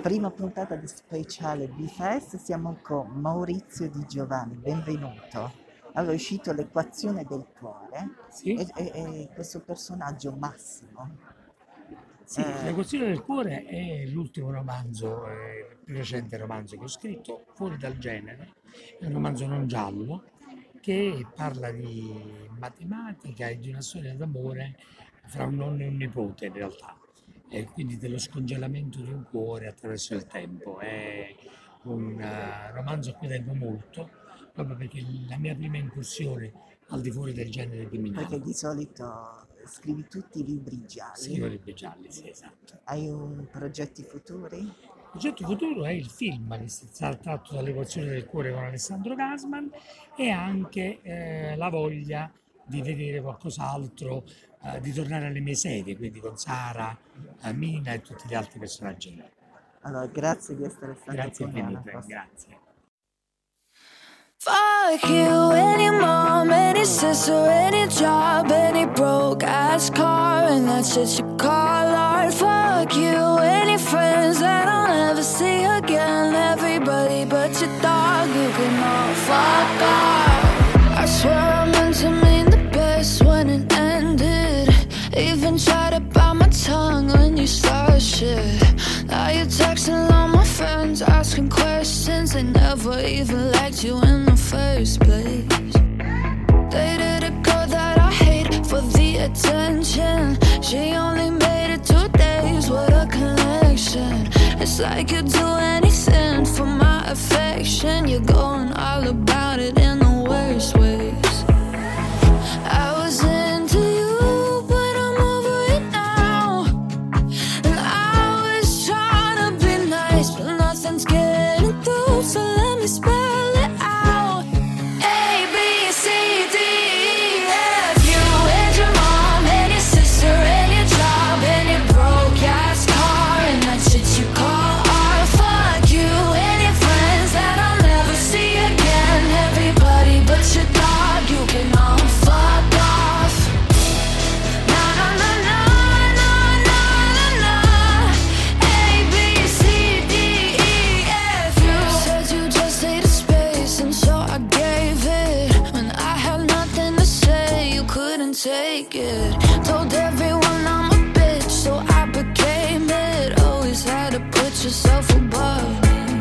prima puntata di Speciale B-Fest, siamo con Maurizio Di Giovanni, benvenuto. Allora, è uscito L'equazione del cuore Sì, e questo personaggio Massimo. sì, eh, La questione del cuore è l'ultimo romanzo, il più recente romanzo che ho scritto, fuori dal genere, è un romanzo non giallo che parla di matematica e di una storia d'amore fra un nonno e un nipote in realtà, e quindi dello scongelamento di un cuore attraverso il tempo. È un romanzo a cui tengo molto, proprio perché è la mia prima incursione al di fuori del genere Perché criminale. di solito scrivi tutti i libri Scrivo gialli. libri gialli, sì, esatto. Hai un progetti futuri? Il progetto futuro è il film tratto dall'equazione del cuore con Alessandro Gasman e anche la voglia di vedere qualcos'altro, di tornare alle mie serie, quindi con Sara, Mina e tutti gli altri personaggi. Allora, grazie di essere stato Grazie con noi alla infinite, prossima. grazie. Fuck you, any mom, any sister, any job, any broke ass car, and that's shit you call art. Fuck you, any friends that I'll never see again. Everybody but your dog, you can all fuck off. I swear I meant to mean the best when it ended. Even tried to bite my tongue when you started shit. Now you're texting all my friends, asking questions. They never even liked you in the first place. Dated a girl that I hate for the attention. She only made it 2 days, what a connection. It's like you'd do anything for my affection. You're going all about it in the worst ways. I was into you, but I'm over it now. And I was trying to be nice, but nothing's getting through, so let me spell it out. A, B, C, D, E, F. You and your mom and your sister and your job and your broke ass car and that shit you call art. Fuck you and your friends that I'll never see again. Everybody but your dog, you can all fuck off. Na na na na na na na na. A, B, C, D, E, F. You said you just needed space, and so I gave it. When I had nothing to say, you couldn't take it. Told everyone I'm a bitch, so I became it. Always had to put yourself above me.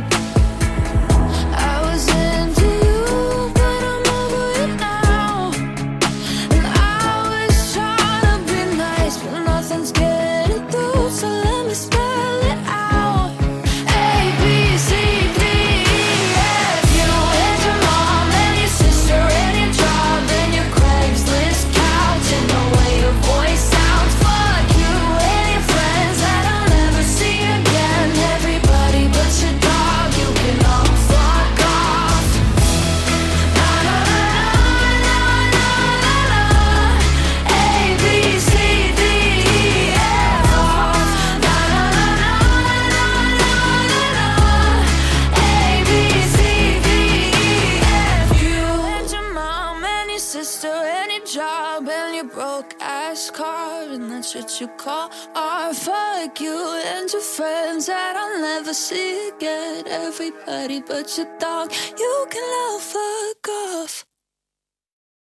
I was into you, but I'm over it now. And I was trying to be nice, but nothing's getting through, so let me spell it out. A, B, C, D, E, F. You and your mom and your sister and your job and your Craigslist couch and the way your voice sounds. Fuck you and your friends that I'll never see again. Everybody but your dog, you can all fuck off. Na na na na na na na. A, B, C, D, E, F. Na na na na na na na. A, B, C, D, E, F. You and your mom and your sister and your job and your broke ass car and that shit you call art. Fuck you and your friends that I'll never see again. Everybody but your dog, you can all fuck off.